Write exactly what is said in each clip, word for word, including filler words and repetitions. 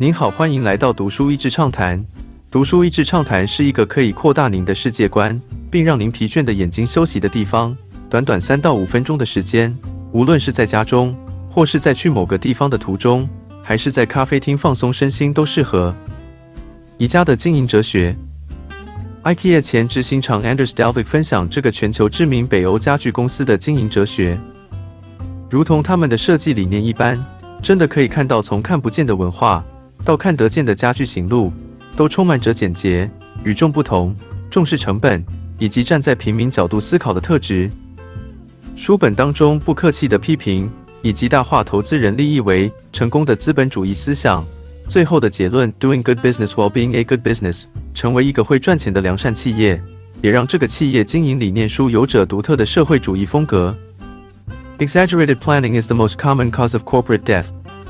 您好，欢迎来到读书益智畅谈。读书益智畅谈是一个可以扩大您的世界观，并让您疲倦的眼睛休息的地方。短短三到五分钟的时间，无论是在家中，或是在去某个地方的途中，还是在咖啡厅放松身心都适合。宜家的经营哲学。IKEA 前执行长 Anders Dalvik 分享这个全球知名北欧家具公司的经营哲学，如同他们的设计理念一般，真的可以看到从看不见的文化到看得见的家具行路，都充满着简洁、与众不同、重视成本以及站在平民角度思考的特质。书本当中不客气的批评以极大化投资人利益为成功的资本主义思想，最后的结论 Doing good business while being a good business 成为一个会赚钱的良善企业，也让这个企业经营理念书有着独特的社会主义风格。Exaggerated planning is the most common cause of corporate death.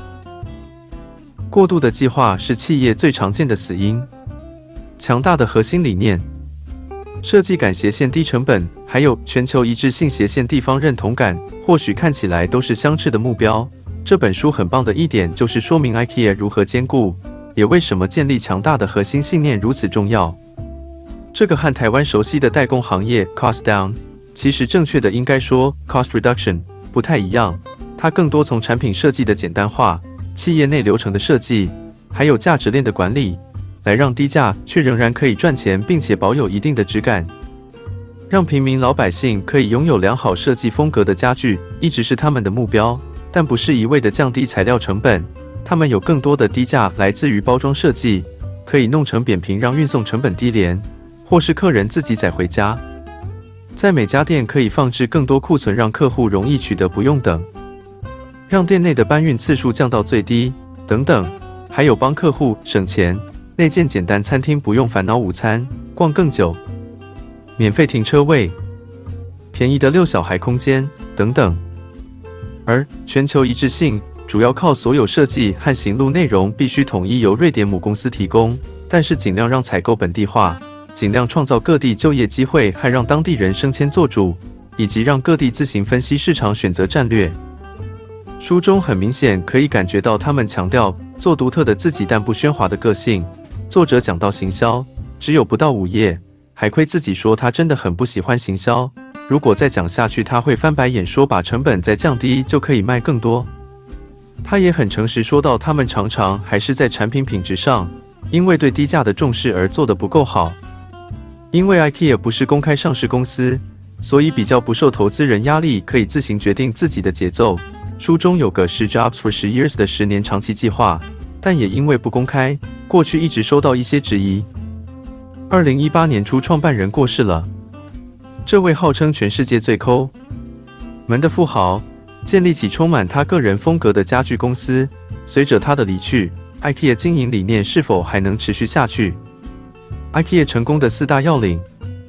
过度的计划是企业最常见的死因。强大的核心理念，设计感、斜线、低成本，还有全球一致性、斜线、地方认同感，或许看起来都是相斥的目标。这本书很棒的一点就是说明 IKEA 如何兼顾，也为什么建立强大的核心信念如此重要。这个和台湾熟悉的代工行业 cost down， 其实正确的应该说 cost reduction 不太一样，它更多从产品设计的简单化、企业内流程的设计，还有价值链的管理，来让低价却仍然可以赚钱，并且保有一定的质感。让平民老百姓可以拥有良好设计风格的家具，一直是他们的目标，但不是一味的降低材料成本，他们有更多的低价来自于包装设计，可以弄成扁平让运送成本低廉，或是客人自己载回家。在每家店可以放置更多库存，让客户容易取得，不用等。让店内的搬运次数降到最低，等等，还有帮客户省钱，内建简单餐厅，不用烦恼午餐逛更久，免费停车位，便宜的遛小孩空间等等。而全球一致性主要靠所有设计和行路内容必须统一由瑞典母公司提供，但是尽量让采购本地化，尽量创造各地就业机会和让当地人升迁做主，以及让各地自行分析市场选择战略。书中很明显可以感觉到他们强调做独特的自己但不喧哗的个性。作者讲到行销，只有不到五页，还亏自己说他真的很不喜欢行销，如果再讲下去他会翻白眼说把成本再降低就可以卖更多。他也很诚实说到他们常常还是在产品品质上，因为对低价的重视而做得不够好。因为 IKEA 不是公开上市公司，所以比较不受投资人压力，可以自行决定自己的节奏。书中有个十 Jobs for 十 years 的十年长期计划，但也因为不公开，过去一直收到一些质疑。二零一八年初创办人过世了，这位号称全世界最抠门的富豪，建立起充满他个人风格的家具公司。随着他的离去， IKEA 经营理念是否还能持续下去？ IKEA 成功的四大要领。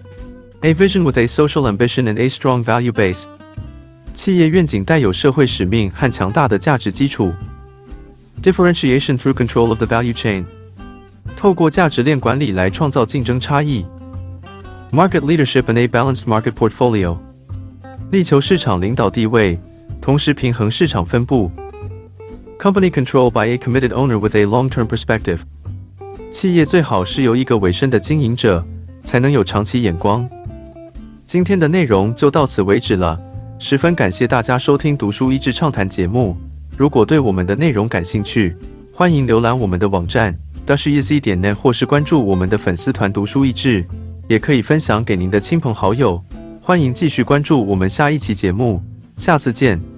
A vision with a social ambition and a strong value base， 企业愿景带有社会使命和强大的价值基础。 Differentiation through control of the value chain， 透过价值链管理来创造竞争差异。 Market leadership and a balanced market portfolio， 力求市场领导地位，同时平衡市场分布。 Company control by a committed owner with a long-term perspective， 企业最好是由一个委身的经营者，才能有长期眼光。今天的内容就到此为止了，十分感谢大家收听读书益智畅谈节目。如果对我们的内容感兴趣，欢迎浏览我们的网站 d a s h e z 点 net 或是关注我们的粉丝团读书益智，也可以分享给您的亲朋好友。欢迎继续关注我们下一期节目，下次见。